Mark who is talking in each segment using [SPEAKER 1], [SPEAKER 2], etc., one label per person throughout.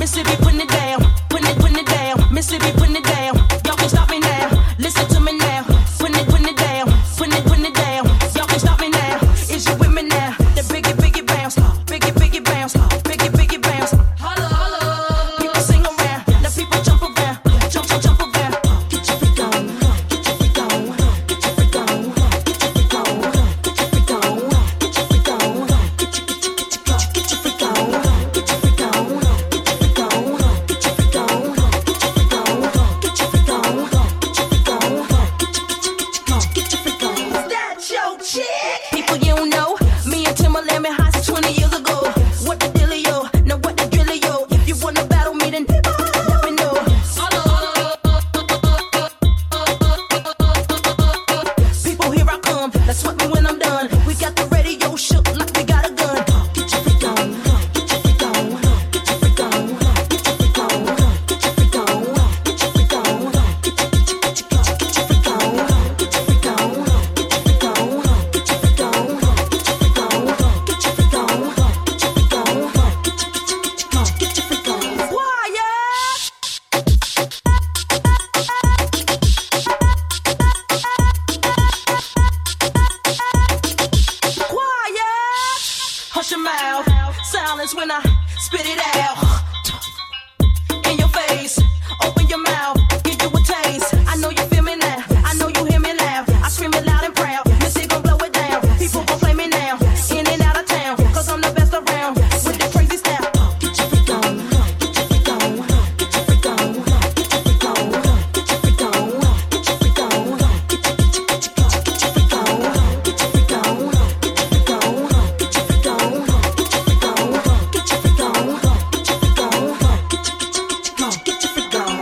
[SPEAKER 1] Mississippi putting it down, putting it down. Mississippi putting it down. Y'all can stop me now. Listen to me now. Putting it down, putting it down. Y'all can stop me now. Is you with me now? The biggie bounce, biggie bounce, biggie bounce. Holla, holla. People sing around, now people jump around, jump around. Get your freak on, get your freak on, get your freak on, get your freak on, get your freak on, get your freak on, get your freak on, get your freak on, get your freak on, get your freak on, get your freak on, get your freak on, get your freak on, get your freak on. Is that your chick? People you don't know, me and Timberland been high since 20 years ago. What the dealio? Now what the drillio? If you wanna battle me, then let me know. People, here I come. That's what me when I'm done. We got the radio shook like we got a gun. Get your freak on, get your freak on, get your freak on, get your freak on, get your freak on, get your freak on, get your freak on, get your freak on, get your freak on, get your freak on, get your freak on, get your freak on, get your freak on, get your freak on. Quiet. Quiet. Hush your mouth. Silence when I spit it out. In your face. Open your mouth. Give you a taste. I know you feel me now. I know you hear me loud. I scream it loud and proud. Missy gon' blow it down. People gon' play me now. In and out of town. Cause I'm the best around. With the crazy style. Get your freak on. Get your freak on. Get your freak on. Get your freak on. Get your freak on. Get your freak on. Get your freak on. Get your freak on. Get your freak on. Get your freak on. Get your freak on. Get your freak on. Get your freak on. Get your freak on. Get your freak on.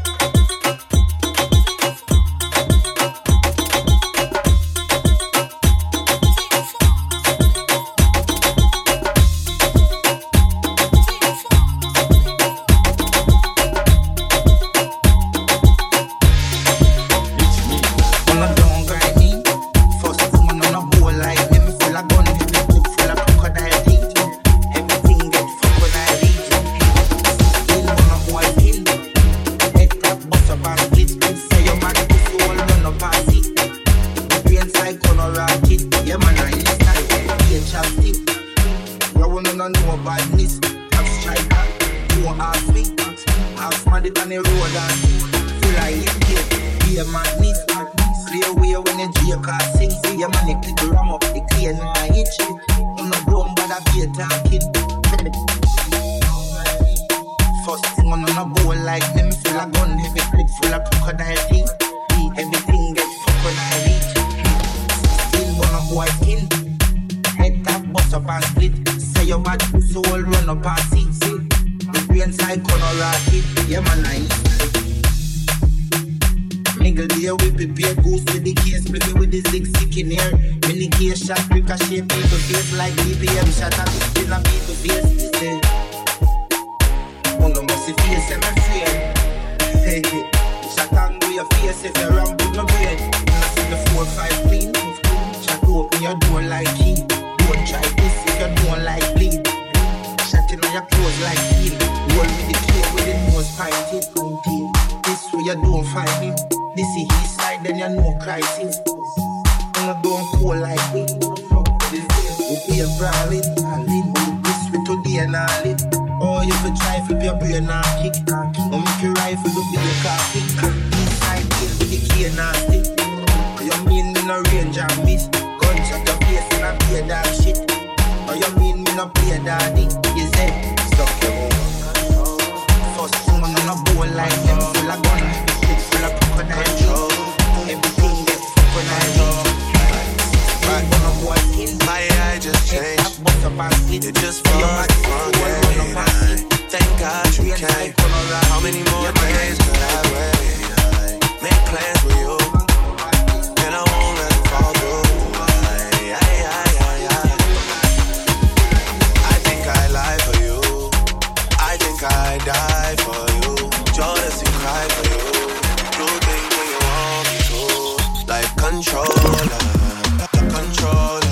[SPEAKER 2] On a down grind me. First woman on a bowl like me. Me full of gun, me clip full of crocodile teeth. Everything get fucked when I reach. Still on a boy kill. Head tap bust up and split. Say your man pussy all run up and sit. Brain side gonna rocket. Yeah man I inside. Be a chapstick. You wanna know badness. Top striker. No half weak. Half smarty on the road and feel like you get. Be a madness. Play away when you drink or sing. See your money click the ram up the clean and I hit you. I'm not dumb but I be a talking. First thing on a bowl like them full of gun. Heavy clip full of crocodile teeth. Everything get fucked when I reach. Still on a boy skin. Head tap bust up and split. Say your bad soul run up and see. The brain side gonna rocket. Yeah man I eat. Mingle there we prepare goose with the case. Play me with the zig in here. Many case shot ricochet people face like BPM shot at the spin of people face. Say, on the mercy face and my friend. Hey, shot on your face if you're wrong with my brain. And I see the 4-5 clean. Shot open your door like key. Don't try this if you don't like bleed. Shot in on your clothes like steel. Roll with the clip with the nose pinted. This way you don't find me. This is his side, then you know crisis. I'm not going cool like me. This will be a brawling. This way today and all it. Oh, you could try flip your brain and kick. Or make your rifle to be a car kick. This side kill with the key and stick. You mean me no range and miss. Gunshot your face and I play that shit. Or you mean me no play daddy. You say, suck your home. First woman on a bowl like them full of gun. Full of crocodile teeth. Everything gets fucked when I reach.
[SPEAKER 3] My eye just changed. It just fucked again. Thank God you came. How many more days could I wait? Make plans with you, and I won't let it fall through. I think I lie for you. I think I die for you. Jodeci cry for you. Do things when you want me to. Like controller. Controller.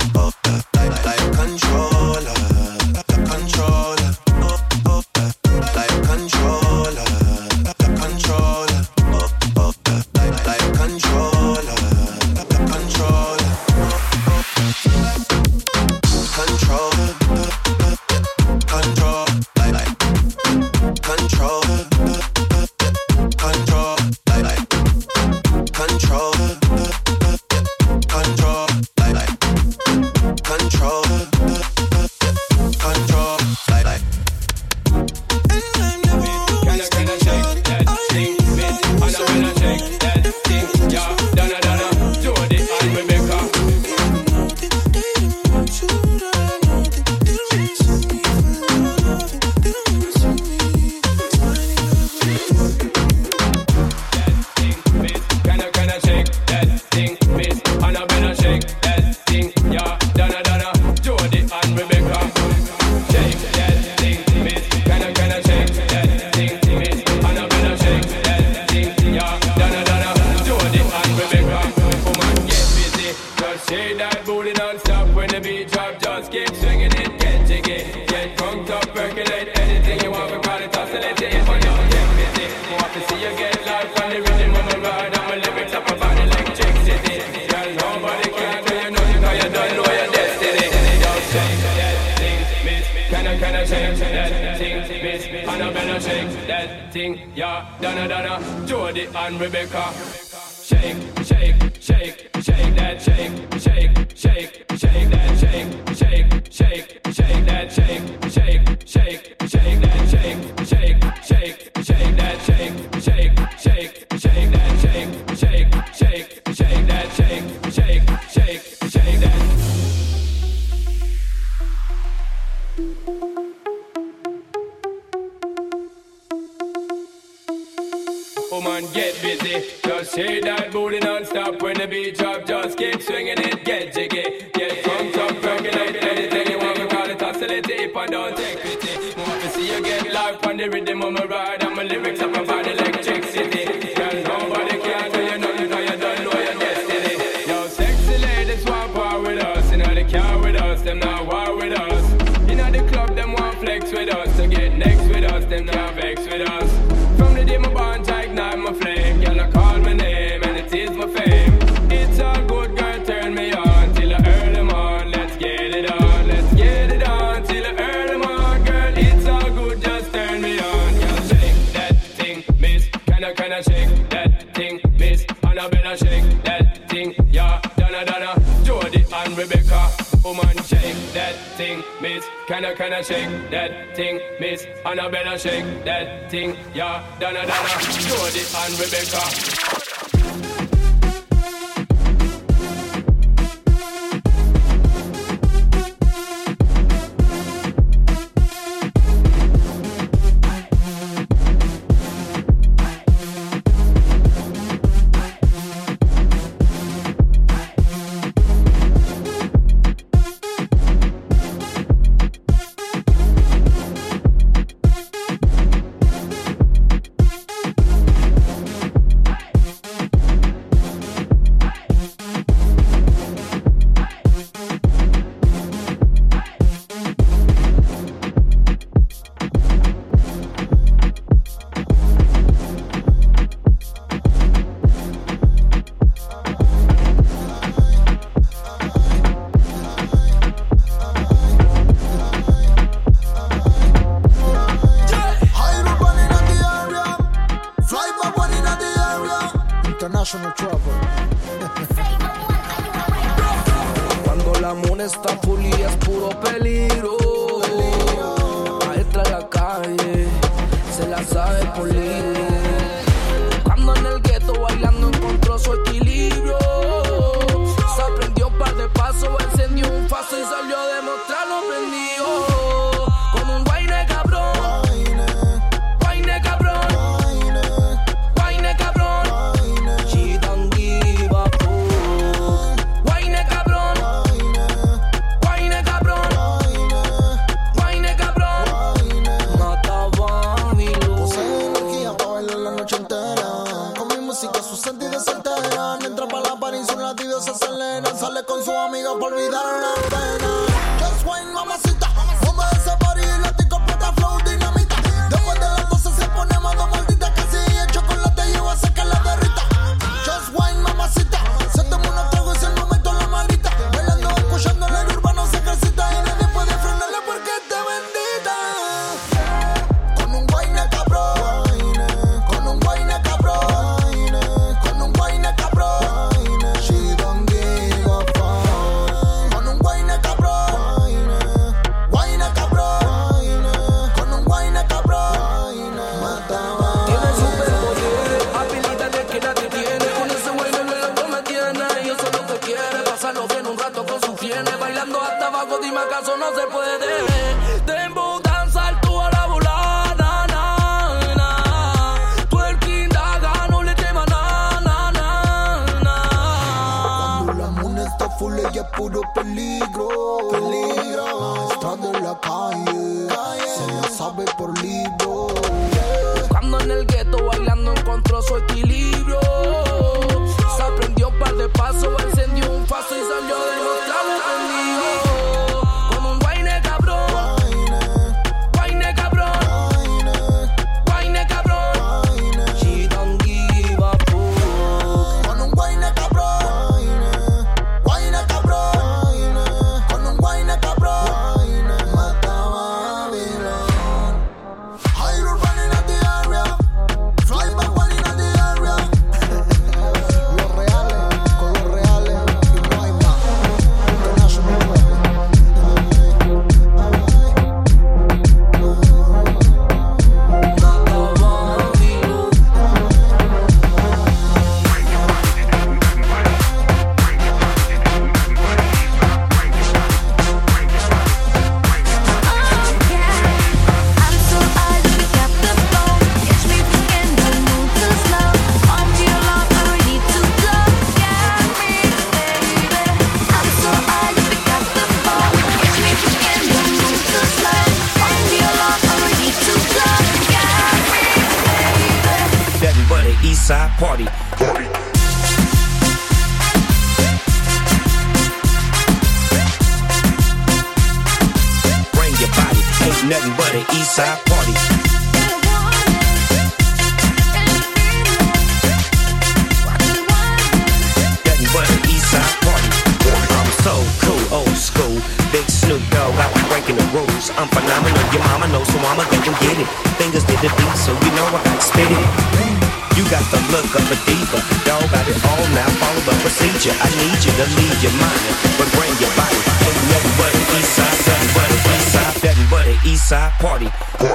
[SPEAKER 3] Like controller. Controller.
[SPEAKER 4] anything you want, we call it oscillating. If I don't take pity, want to see you get life on the rhythm of my ride. And my lyrics up about electricity. Girl, nobody can do you nothing, cause you don't know your destiny. Don't shake that thing, miss. Can I shake that thing, miss? And I better shake that thing, yeah. Donna, Jody and Rebecca. Shake, shake, shake, shake that, shake, shake, shake, shake that, shake, shake, shake, shake that, shake, shake, shake, shake that, shake, shake, shake, shake that, shake, shake, shake, shake that, shake, shake, shake, shake that, shake, shake, shake, shake that. Woman, get busy. Just shake that booty non-stop when the beat drop. Just keep swinging it, get jiggy. Get drunk, percolate anything you want. We call it oscillating if I don't take pity. Want to see you get life on the rhythm of my ride. And my lyrics up about electricity. Girl, nobody can do you nothing, cause you don't know your destiny. Yo, sexy ladies want war with us. You know they car with us, them not war with us. You know the club, them want flex with us. To get next with us, them not vex with us. From the day my bond, I ignite my flame. Girl, I call my name and it is my fame. It's all good, girl, turn me on till I earn them on. Let's get it on, let's get it on till I earn them on. Girl, it's all good, just turn me on. Girl, shake that thing, miss. Can I shake that thing, miss? And I better shake that thing, yeah. Donna, Jody and Rebecca. Woman, shake that thing, miss. Can I shake that thing, miss? And I better shake that thing, yeah. Donna, Jody and Rebecca.
[SPEAKER 5] Cuando la mona está full y es puro peligro, maestra de la calle, se la sabe por libro. Cuando en el gueto bailando encontró su equilibrio, se aprendió un par de pasos, encendió un faso y salió a demostrarlo prendido. Con un guayne cabrón, guayne cabrón, guayne cabrón, she don't give a fuck. Guayne cabrón, guayne cabrón, guayne cabrón, mata Babylon.
[SPEAKER 6] Posee energía East Side Party. Bring your body, ain't nothing but an East Side Party. Nothing but an East Side Party. I'm so cool, old school, big Snoop Dogg, I was breaking the rules. I'm phenomenal, your mama knows, so I'ma go and get it. Fingers did the beat, so you know I got to spit it. You got the look of a diva, dog got it all now, follow the procedure. I need you to leave your mind, but bring your body. Ain't nothing but an East Side, nothing but an East Side, nothing but an East Side Party.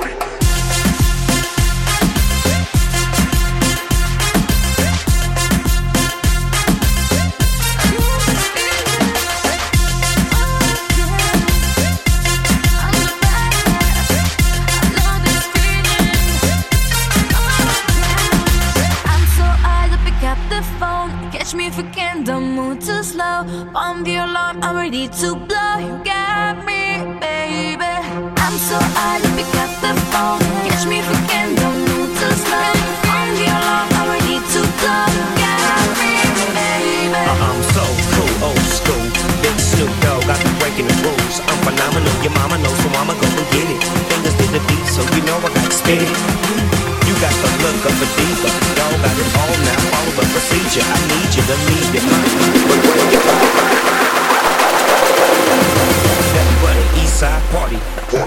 [SPEAKER 7] Me if you can, don't move too slow. On the alarm, I'm ready to blow. You got me, baby. I'm so high, you pick up the phone. Catch me if you can, don't move too slow. On the alarm, I'm ready to blow. You got me, baby.
[SPEAKER 6] I'm so cool, old school, big Snoop Dogg, I be breaking the rules. I'm phenomenal, your mama knows, so I'ma go and get it. Fingers did the beat, so you know I got to spit it. You got the look of a diva, dog got it all now, follow the procedure. I need you to leave your mind, but bring your body. Nothing but an East Side Party.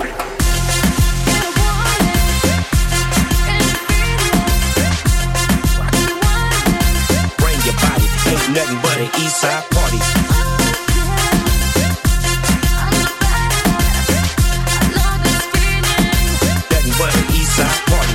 [SPEAKER 6] Bring your body, ain't nothing but an East Side Party. Nothing but an East Side Party.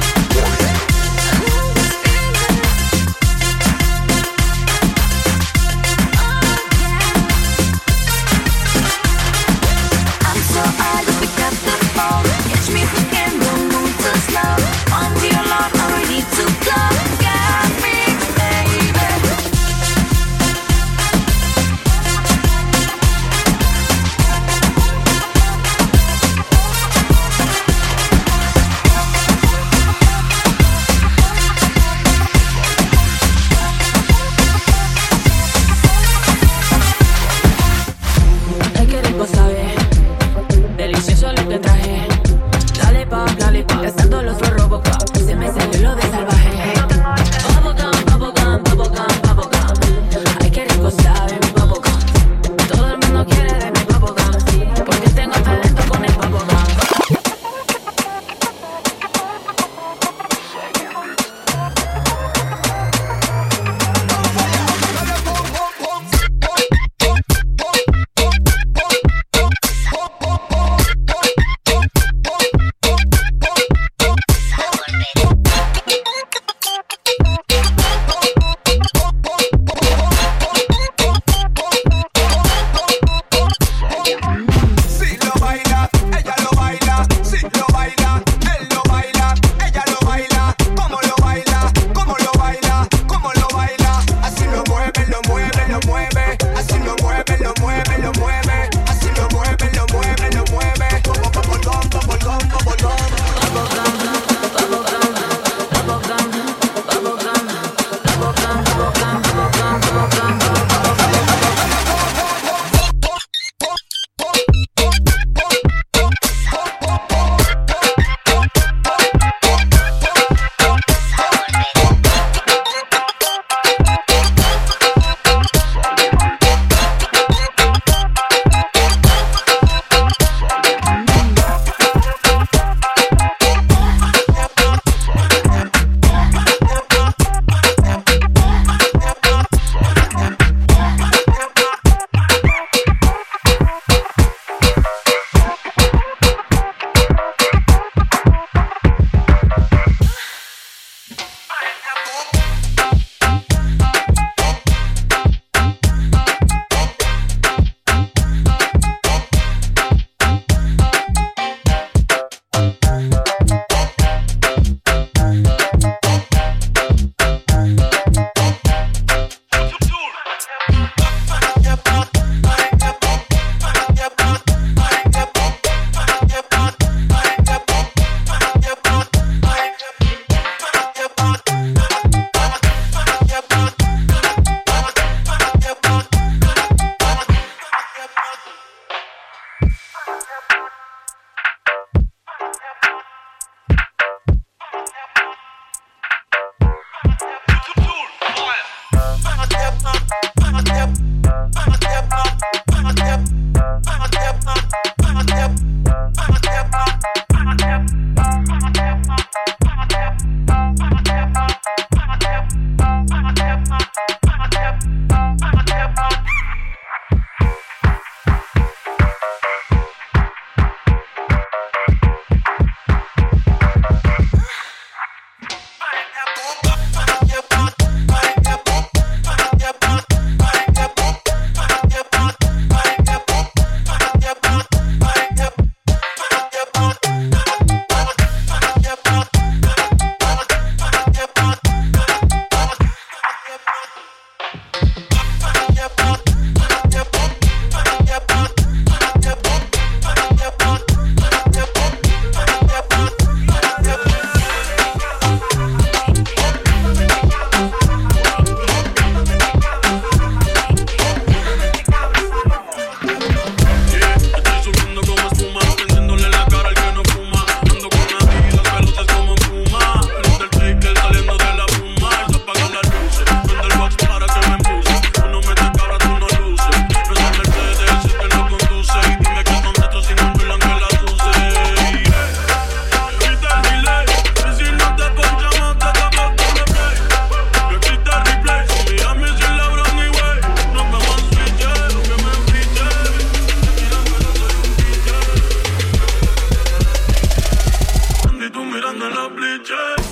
[SPEAKER 8] en los bleachers.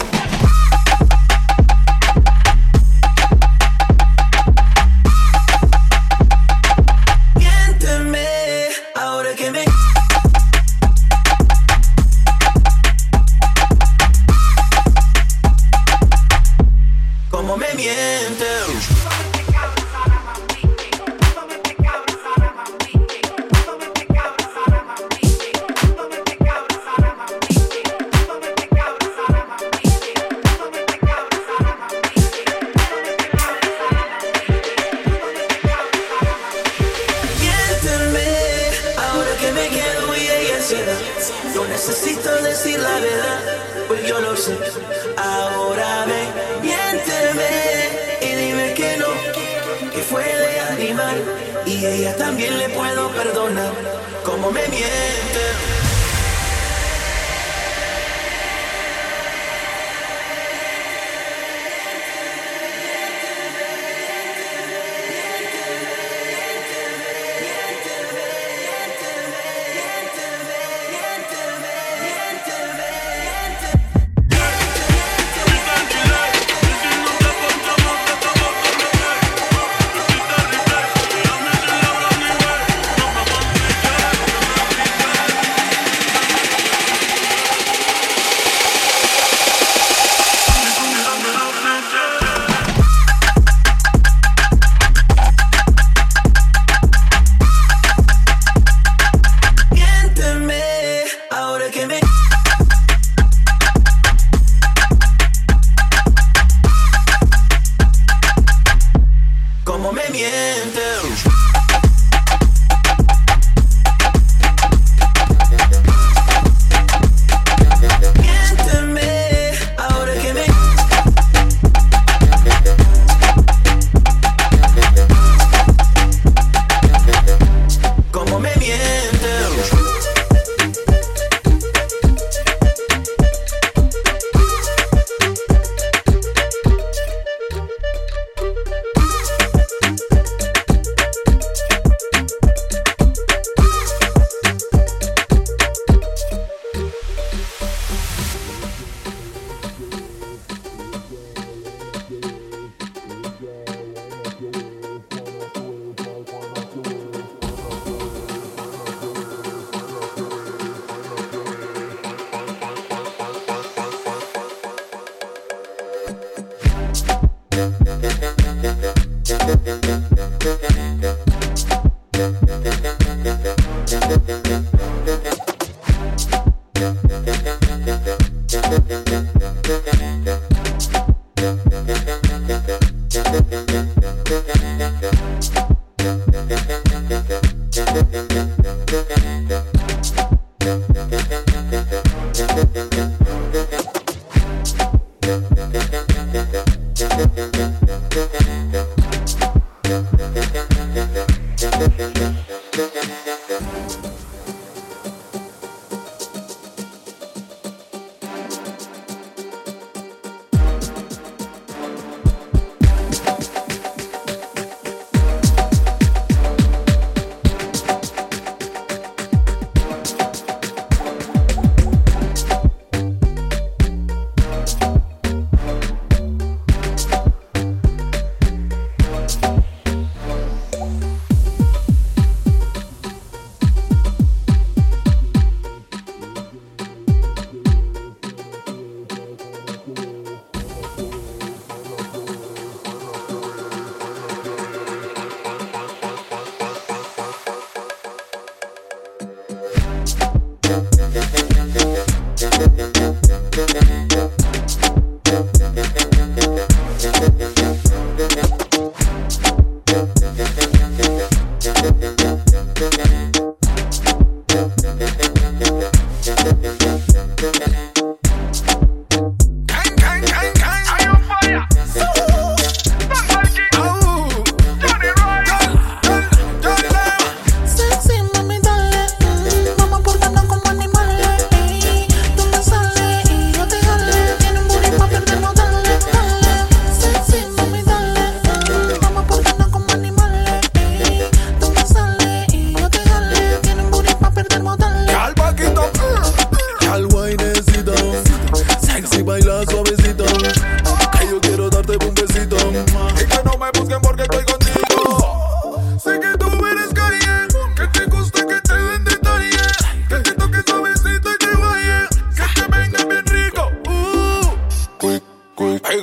[SPEAKER 9] Miénteme, ahora que me... Como me mientes. Necesito decir la verdad, pues yo lo sé. Ahora ven, miénteme y dime que no, que fue de animal. Y ella también le puedo perdonar, como me miente.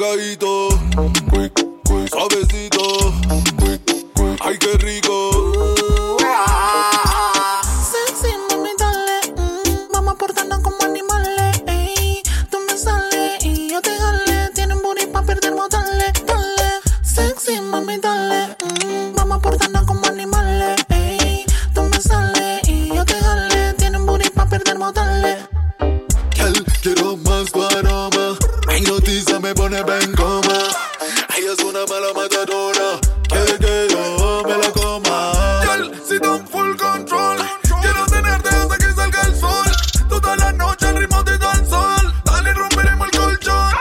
[SPEAKER 8] pegadito, quick, quick, suavecito, quick, quick, ay qué rico.
[SPEAKER 10] Sexy, mami, dale, vamos portarnos como animales, ey. Tú me sales y yo te jale, tienen booty pa' perder modales, dale. Sexy, mami, dale, vamos portarnos como animales, ey. Tú me sales y yo te jale, tienen booty pa' perder modales.
[SPEAKER 8] Quiero más tu aroma, mi noticia me pone en coma. Ella es una mala matadora, quiere que yo me la coma. Girl, si don full control, quiero tenerte hasta que salga el sol. Toda la noche al ritmo de dancehall, dale romperemos el colchón.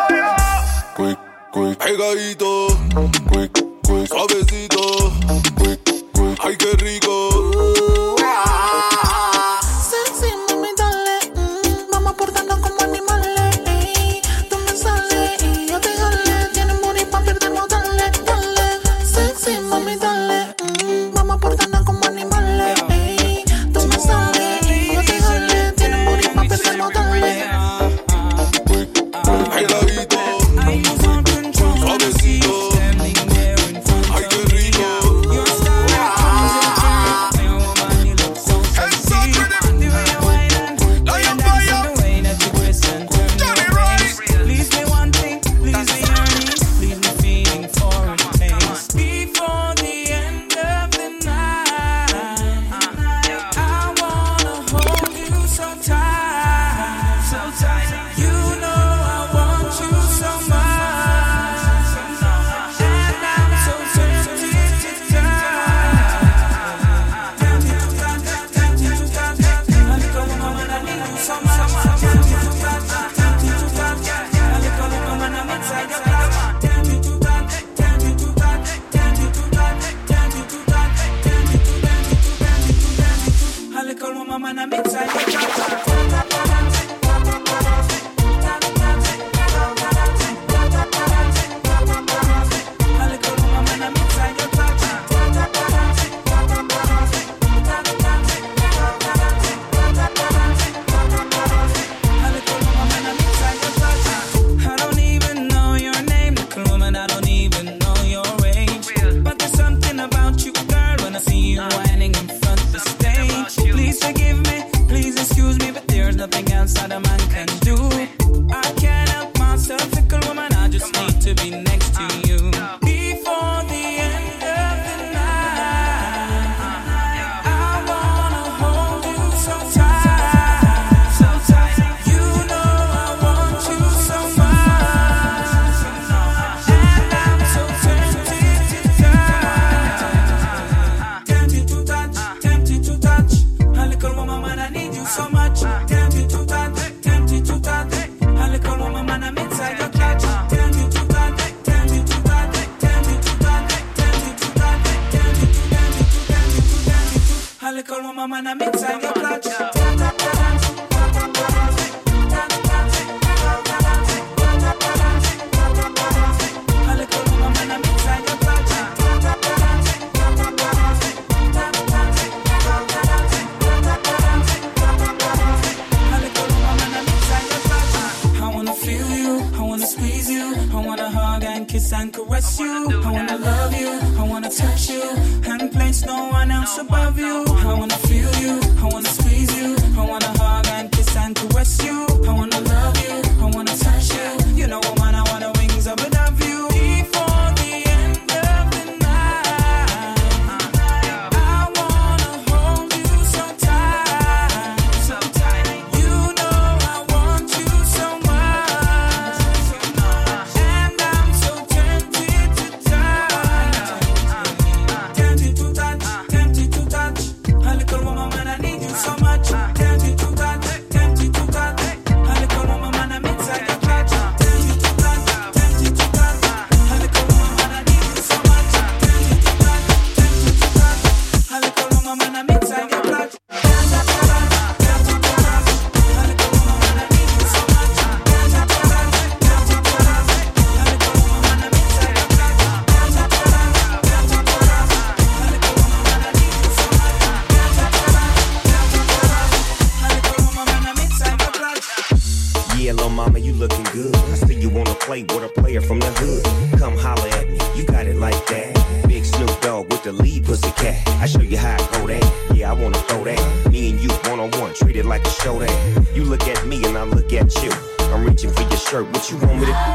[SPEAKER 8] Quick, quick, pegadito, quick, quick, suavecito, quick, quick, ay qué rico.
[SPEAKER 11] So much, tempted to touch,
[SPEAKER 6] looking good. I see you wanna play with a player from the hood. Come holler at me, you got it like that. Big Snoop Dogg with the lead pussycat. I show you how I go that. Yeah, I wanna throw that. Me and you one-on-one, treat it like a show that. You look at me and I look at you. I'm reaching for your shirt, what you want me to?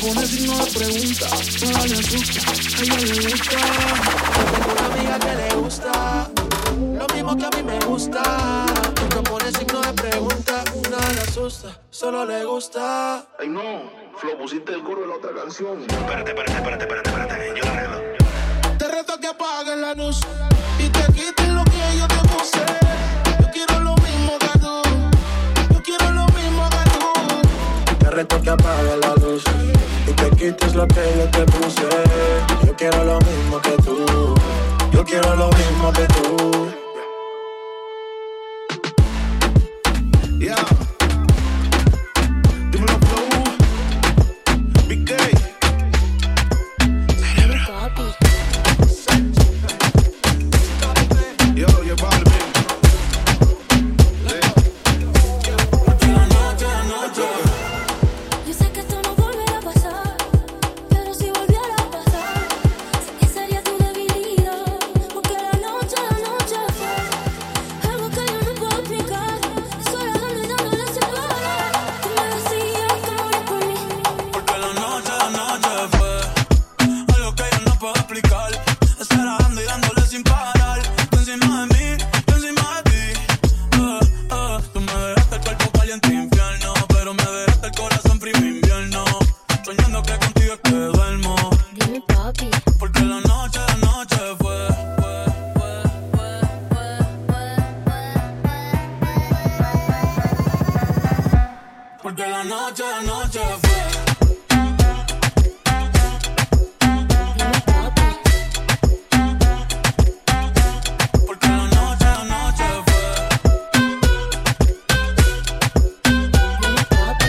[SPEAKER 11] gusta, no le asusta, a ella le gusta. Yo tengo una amiga que le gusta.
[SPEAKER 8] gusta. Nunca pone signo de pregunta, nada le asusta, solo le gusta.
[SPEAKER 11] Ay no, Flo, pusiste el coro de la otra canción.
[SPEAKER 6] Espérate, yo lo arreglo.
[SPEAKER 8] Te reto a que apagues la luz y te quites lo que yo te puse. Yo quiero lo mismo que tú, yo quiero lo mismo que tú. Te reto que apagues la luz y te quites lo que yo te puse. Yo quiero lo mismo que tú, yo quiero lo mismo que tú. Yeah. Dímelo, Flow. Big Day. Yo, vale,
[SPEAKER 7] Yo sé que esto no volverá a pasar, pero si volviera a pasar, sé que sería tu debilidad. Porque la noche fue algo que yo no puedo explicar. Sola dando y dándole sin parar. Tú me decías que morías por mí.
[SPEAKER 12] Porque la noche fue algo que yo no puedo explicar. Estar dando y dándole sin parar. Tú encima de mí, yo encima de ti. Tú me dejaste el cuerpo caliente infierno, pero me dejaste el corazón frío invierno. Soñando que contigo es que duermo.
[SPEAKER 7] Dime, papi.
[SPEAKER 12] Porque la noche fue. Porque la noche fue.
[SPEAKER 7] Dime, papi.
[SPEAKER 12] Porque la noche fue.
[SPEAKER 7] Dime, papi.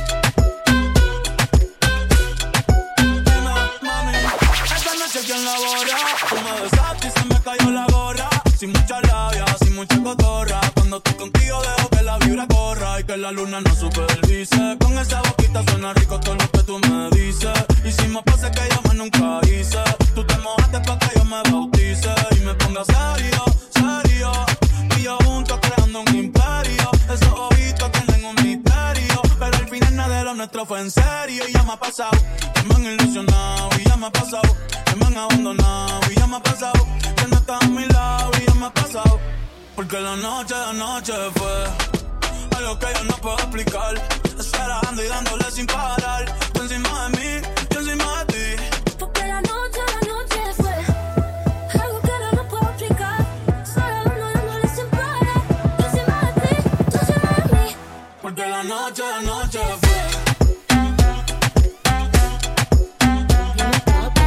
[SPEAKER 12] Dime, mami, esta noche quién la borra. Tú me besaste y se me cayó la gorra. Sin mucha labia, sin mucha cotorra. Cuando estoy contigo dejo que la vibra corra y que la luna no supervise. Con esa boquita suena rico todo lo que tú me dices. Hicimos pases que yo más nunca hice. Tú te mojaste pa' que yo me bautice y me ponga serio. Y yo juntos creando un imperio. Esos ojitos tienen un misterio, pero al final nada de lo nuestro fue en serio. Y ya me ha pasado, que me han ilusionado. Y ya me ha pasado, que me han abandonado. Y ya me ha pasado, que no estás a mi lado. Y ya me ha pasado, porque la noche fue algo que yo no puedo explicar. Estar dando y dándole sin parar. Tú encima de mí, yo encima de ti.
[SPEAKER 7] Porque la noche fue algo que yo no puedo explicar. Sola dándole sin parar. Yo encima de ti, tú encima de mí.
[SPEAKER 12] Porque la noche fue.
[SPEAKER 7] Dime, papi.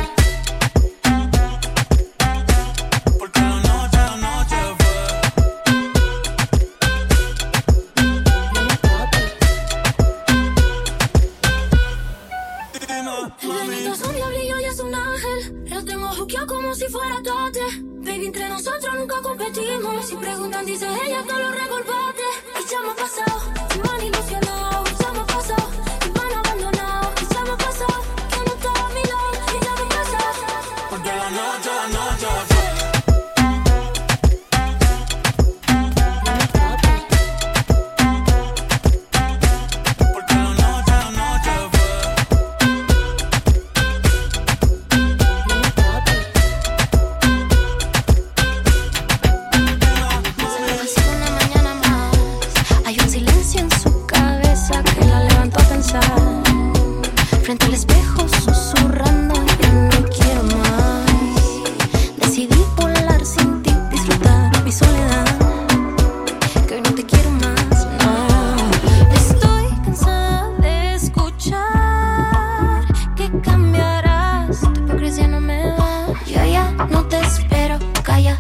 [SPEAKER 12] Porque la noche fue.
[SPEAKER 7] Dime, papi.
[SPEAKER 12] Dime,
[SPEAKER 7] El
[SPEAKER 12] mami.
[SPEAKER 7] viento es un diablillo y es un ángel. Lo tengo juqueado como si fuera tote. Baby, entre nosotros nunca competimos. Si preguntan, dice ella, todo lo recordaste. Y ya me ha pasado, que me han ilusionado. Y ya me ha pasado, que me han abandonado. Y ya me ha pasado, que no estaba a mi lado. Y ya me ha pasado.
[SPEAKER 12] Porque la noche fue.
[SPEAKER 7] Dime, papi.
[SPEAKER 12] Porque la noche fue.
[SPEAKER 7] Dime, papi. Se me vacía una mañana más. Hay un silencio en su cabeza que la levantó a pensar. Frente al espejo susurrando, ya no quiero más. Decidí volar sin ti, disfrutar mi soledad. Que hoy no te quiero más, no. Estoy cansada de escuchar que cambiarás. Tu hipocresía no me da. Yo ya no te espero, calla.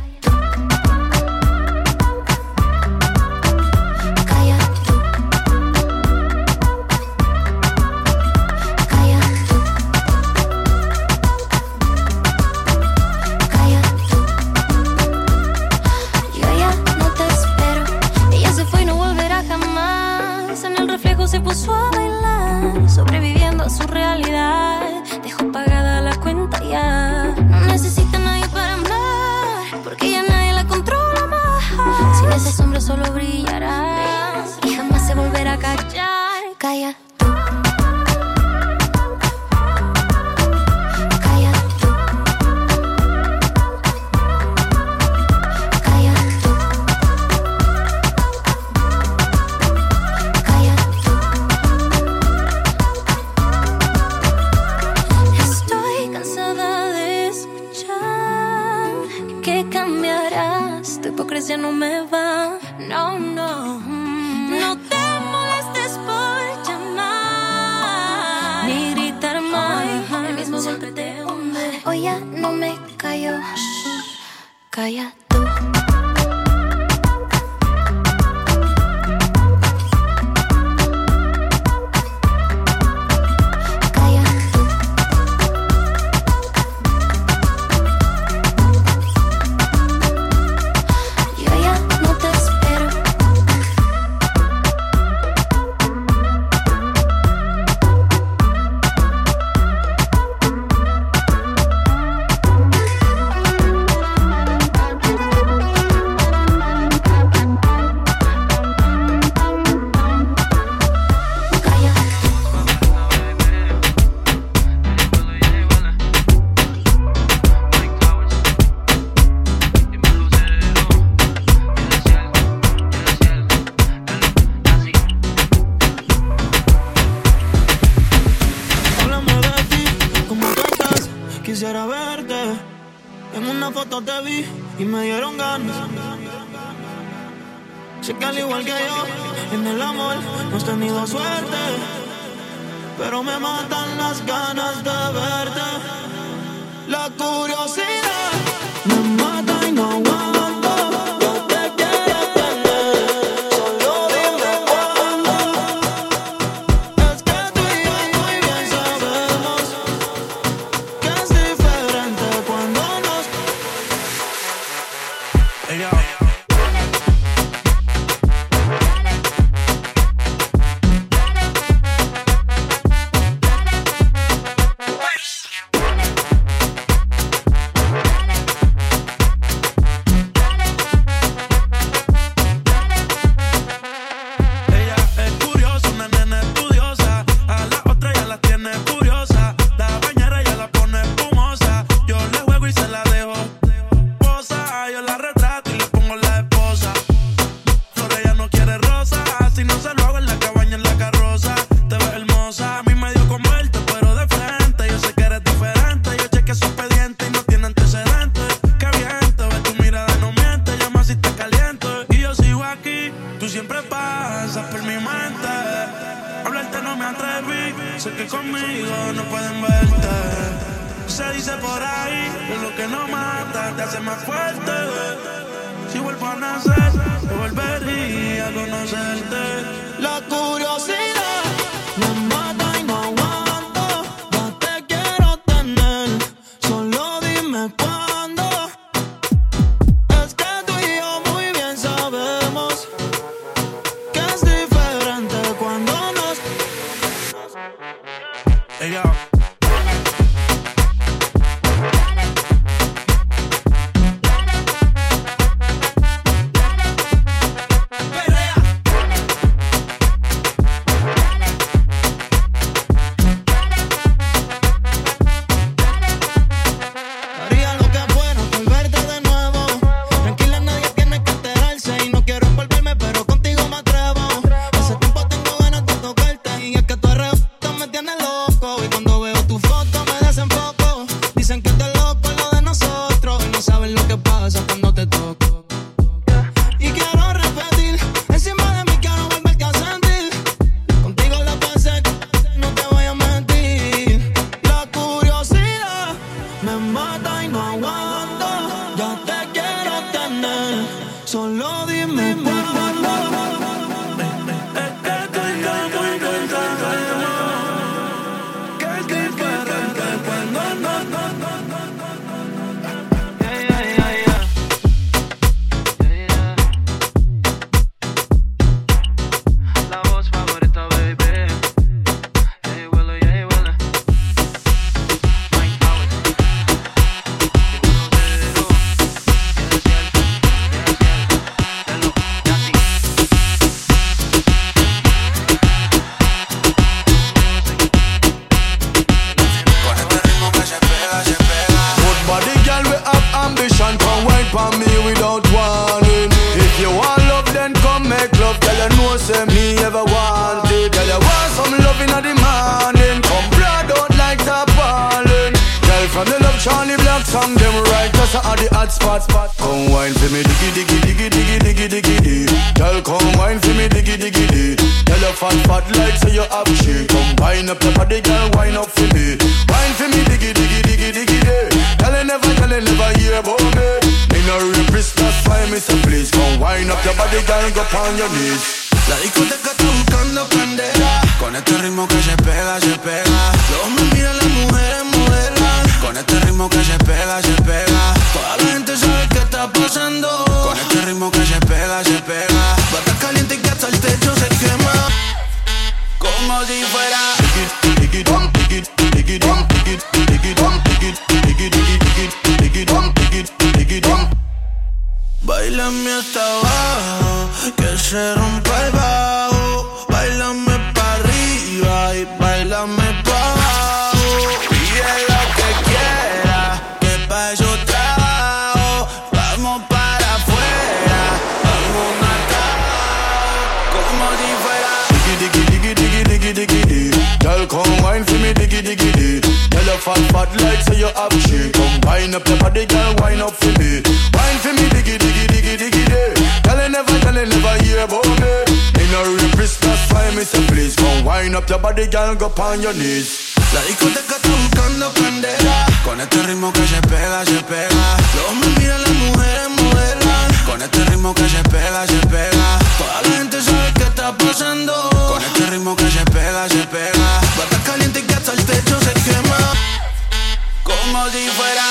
[SPEAKER 7] Calla tú. Calla tú. Calla tú. Yo ya no te espero. Ella se fue y no volverá jamás. En el reflejo se puso a bailar, sobreviviendo a su realidad. Dejó pagada la cuenta ya. No necesita a nadie para amar, porque ya nadie la controla más. Sin esa sombra solo brillará y jamás se volverá a callar. Calla tú. Calla tú. Calla tú. hipocresía no me va. No, no. No te molestes por llamar ni gritar más. El mismo golpe te hunde. Hoy ya no me callo. Calla tú.
[SPEAKER 12] Quisiera verte, en una foto te vi y me dieron ganas. Sé que al igual que yo, en el amor no has tenido suerte, pero me matan las ganas de verte. La curiosidad me mata y no aguanto. song them right, just at the hot spot. Come wine for me, diggy diggy diggy diggy diggy diggy diggy. Girl, come wine for me, diggy diggy diggy. Tell your fat like so you have shit. Come wine up your body, girl, wine up for me. Wine for me, diggy diggy diggy diggy diggy. Tell you never hear about me. Me no rapist, that's why me say please. Come wine up your body, girl, go on your knees.
[SPEAKER 13] La discoteca está buscando candela. Con este ritmo que se pega, se pega. Los hombres miran, las mujeres modelan. Con este ritmo que se pega, se pega. Toda la gente sabe qué está pasando. Con este ritmo que se pega, se pega. Bata caliente que hasta el techo se quema. Como si fuera Báilame hasta abajo, que se rompa el bajo. Báilame pa' arriba y báilame pa' abajo. Pide lo que quiera, que pa' eso trabajo. Vamos para afuera, vamos matado, como si fuera
[SPEAKER 12] diggy diggy diggy diggy diggy diggy. Girl, come wine for me, diggy diggy diggy. Tell your fat like so you have shit. Come wine up your body, girl, wine up for me. Wine for me, diggy diggy diggy diggy diggy. Tell you never hear about me. In a rapist, that's why me say please. Come wine up your body, girl, go on your knees.
[SPEAKER 13] La discoteca está buscando candela. Con este ritmo que se pega, se pega. Los hombres miran, las mujeres modelan. Con este ritmo que se pega, se pega. Toda la gente sabe qué está pasando. Con este ritmo que se pega, se pega. Bata caliente que hasta el techo se quema. Como si fuera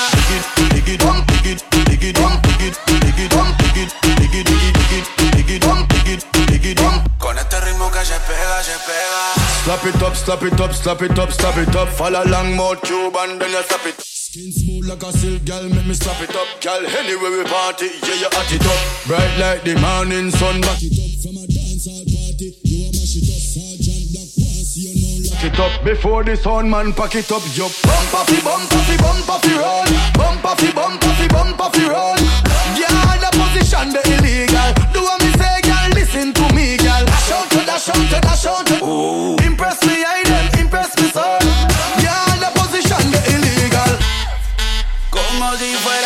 [SPEAKER 13] con este ritmo que se pega, se pega.
[SPEAKER 12] Slap it up, slap it up, slap it up, slap it up. Follow along more tube and then you slap it. Skin smooth like a silk, girl, make me slap it up. Girl, anywhere we party, yeah, you hot it up. Bright like the morning sun, back it up. From a dancehall party, you a mash it up. Sergeant Black Pants, you know lock it up. Before the sun man pack it up, yo. Bump off the roll. Bump off the roll. Yeah, the position the illegal. Do what me say, girl, listen to me, girl. Dash out. Ooh. Impress me, I then impress me, son. Yeah, the position the illegal.
[SPEAKER 13] Como si fuera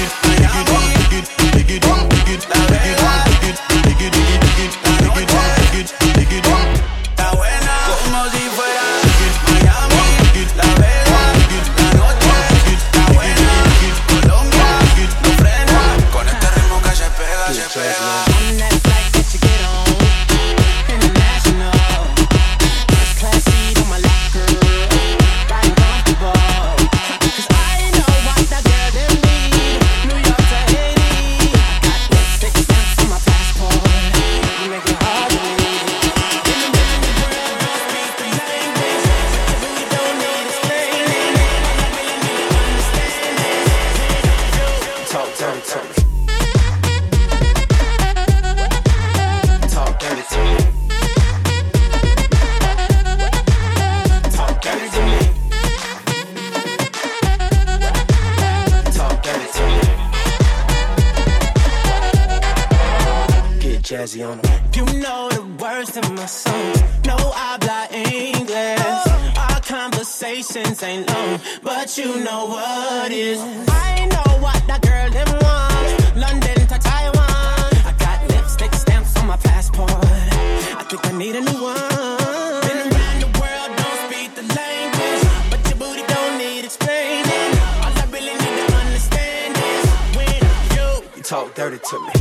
[SPEAKER 9] You know the words to my songs. No habla English. Our conversations ain't long, but you know what is. I know what that girl them want. London to Taiwan. I got lipstick stamps on my passport. I think I need a new one. Been around the world, don't speak the language, but your booty don't need explaining. All I really need to understand is when you talk dirty to me.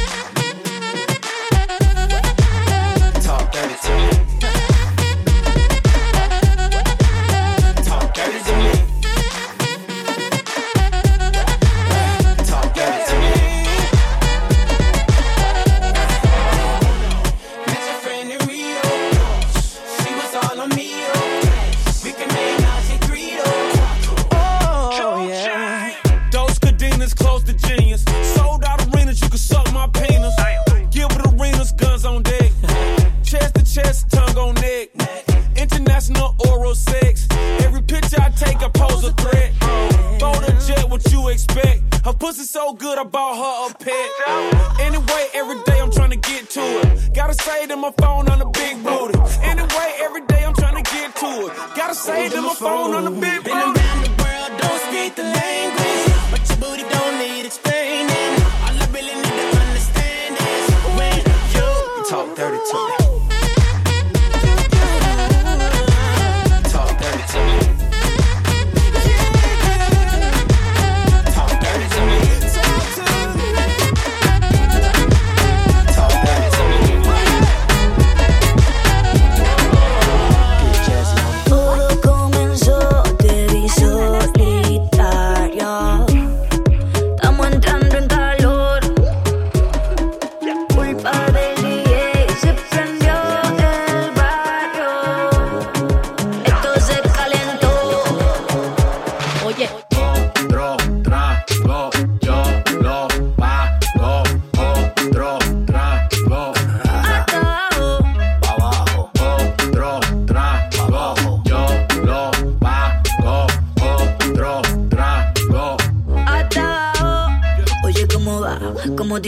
[SPEAKER 9] Talk dirty to me. Talk dirty to me. Talk dirty to me. Met your friend in Rio. She was all on me. We can make out she Greedo. Oh, yeah.
[SPEAKER 14] Those cadenas close to genius. Sold out arenas, you can suck my penis. Gilbert Arenas, guns on deck. Chest to chest, tongue on neck. International oral sex. Every picture I take, I pose a threat. Phone a jet, what you expect? Her pussy so good, I bought her a pet. Anyway, every day I'm trying to get to it. Gotta say that my phone on the big booty. Anyway, every day I'm trying to get to it. Gotta say that my phone on the big booty.
[SPEAKER 9] Been around the world, don't speak the language,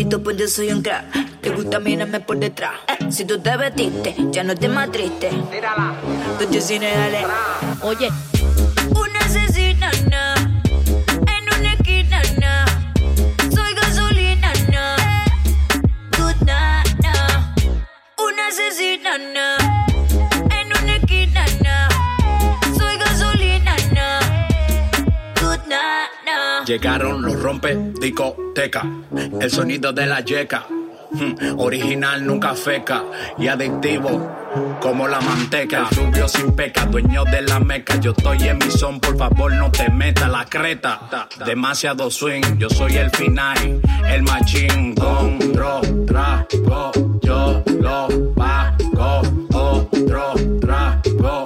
[SPEAKER 15] bonito, pues yo soy un crack. Te gusta mirarme por detrás. Si tú te vestiste, ya no estés más triste. Tírala. Tú sí, dale. Oye. Una asesina, na. En una esquina, na. Soy gasolina, na. Good na, na. Una asesina, na. En una esquina, na. Soy gasolina, na. Good na, na.
[SPEAKER 16] Llegaron los rompe discoteca, el sonido de la yeca. Original, nunca feca y adictivo como la manteca. El rubio sin peca, dueño de la meca. Yo estoy en mi son, por favor no te metas la creta. Demasiado swing, yo soy el final, el machín. Otro trago, yo lo pago. Otro trago.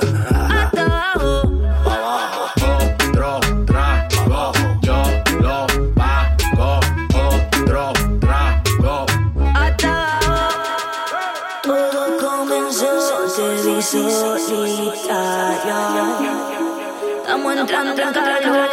[SPEAKER 15] Estamos entrando en calor.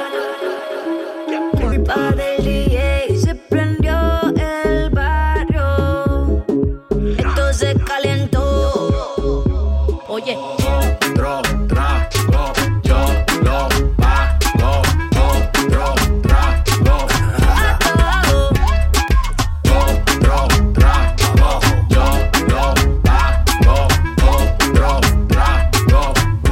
[SPEAKER 15] Culpa del DJ, se prendió el barrio. Esto se calentó. Oye.
[SPEAKER 16] Otro trago, yo lo pago. Otro trago. Otro trago, yo lo pago. Otro trago.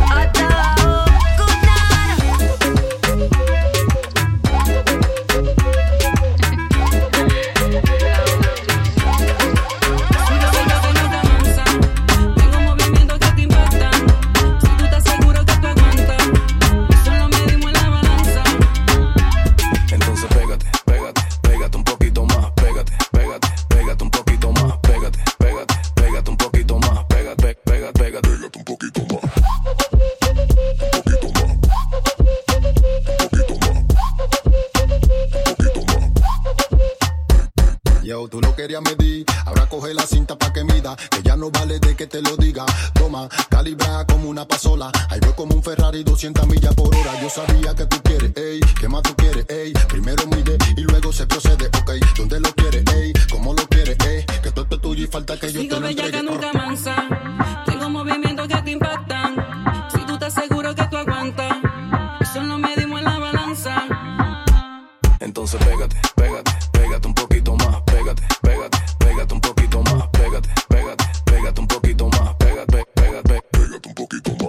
[SPEAKER 17] Yo, tú lo querías medir, ahora coge la cinta pa' que mida, que ya no vale de que te lo diga. Toma, calibra como una pasola, ahí voy como un Ferrari 200 millas por hora. Yo sabía que tú quieres, ey, ¿qué más tú quieres, ey? Primero mide y luego se procede, ok. ¿Dónde lo quieres, ey? ¿Cómo lo quieres, ey? Que todo esto es tuyo y falta que yo te lo entregue.
[SPEAKER 18] Sigo bella que nunca mansa, tengo movimientos que te impactan. Si tú estás seguro que tú aguantas, eso no medimos en la balanza.
[SPEAKER 13] Entonces pégate, pégate, pégate un poquito más. Pégate, pégate, pégate un poquito más. Pégate, pégate, pégate un poquito más. Pégate, pégate, pégate un poquito más.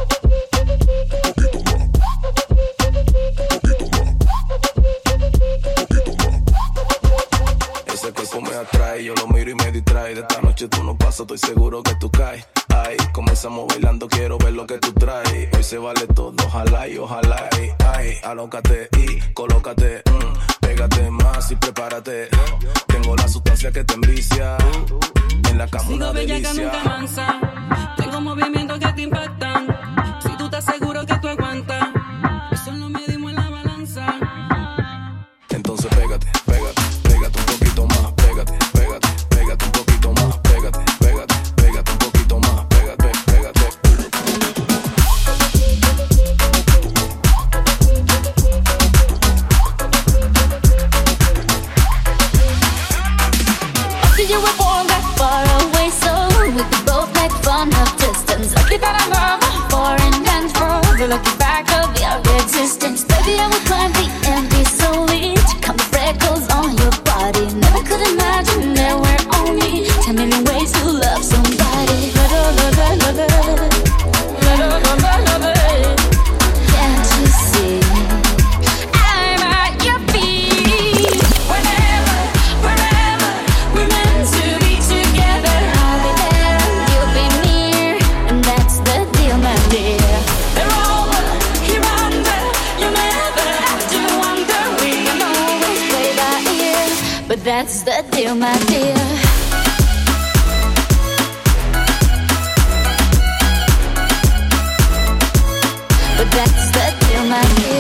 [SPEAKER 13] Ese cuerpo me atrae, yo lo miro y me distrae. De esta noche tú no pasas, estoy seguro que tú caes. Ay, comenzamos bailando, quiero ver lo que tú traes. Hoy se vale todo, ojalá y ojalá. Ay, alócate y colócate. Pégate más y prepárate. Tengo la sustancia que te envicia. En la cama
[SPEAKER 18] Sigo
[SPEAKER 13] una
[SPEAKER 18] bella
[SPEAKER 13] delicia.
[SPEAKER 18] que nunca mansa, tengo movimientos que te impactan. Si tú estás seguro que tú aguantas, eso no medimos en la balanza.
[SPEAKER 13] Entonces pégate, pégate, pégate un poquito más. Pégate, pégate, pégate un poquito más. Pégate, pégate, pégate un poquito más. Pégate, pégate.
[SPEAKER 7] After you were born that far away, so we could both make fun of distance. Lucky that I love foreign and further. Looking back of your existence, baby, I would climb the empty solely to come with freckles on your body. Never could imagine there were only 10 million ways to love somebody. Can't you see? I'm at your feet. Whenever, wherever, we're meant to be together. I'll be there and you'll be near, and that's the deal, my dear. They're over, here under, you'll never have to wonder. We can always play by ear, but that's the deal, my dear. But that's the deal, my dear.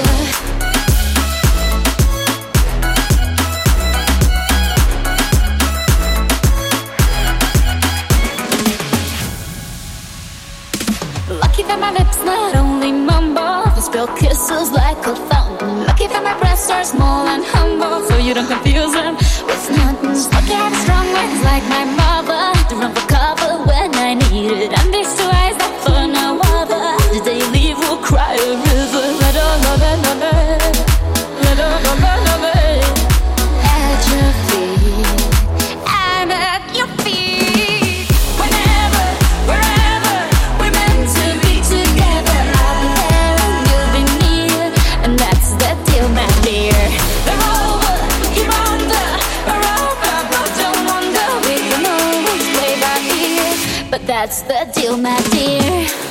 [SPEAKER 7] Lucky that my lips not only mumble, your kisses like a fountain. Lucky that my breasts are small and humble, so you don't confuse them with nothing. Lucky I have strong words like my mother to run for cover when I need it. And these two eyes that for no other. The day you leave will cry a river. Let all of it, let all of it. At your feet, I'm at your feet. Whenever, wherever we're meant to be together, I'll be there and you'll be near, and that's the deal, my dear. The rover, you're under a rover, but don't wonder we can always play by ear, but that's the deal, my dear.